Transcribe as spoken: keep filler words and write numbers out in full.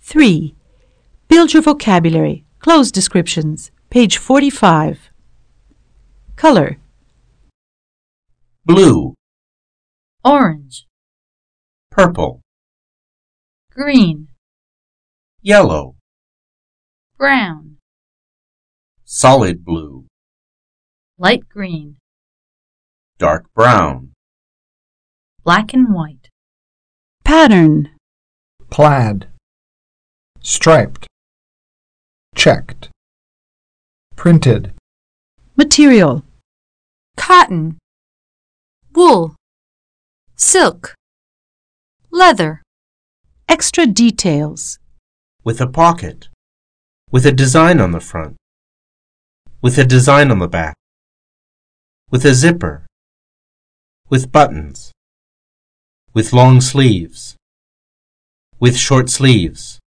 three. Build your vocabulary. Close descriptions. Page forty-five. Color. Blue, orange, purple, green, yellow, brown, solid blue, light green, dark brown, black and white, Pattern. plaid, striped, checked, printed, Material. cotton, wool, silk, leather, Extra details. with a pocket, with a design on the front, with a design on the back, with a zipper, with buttons, with long sleeves, with short sleeves.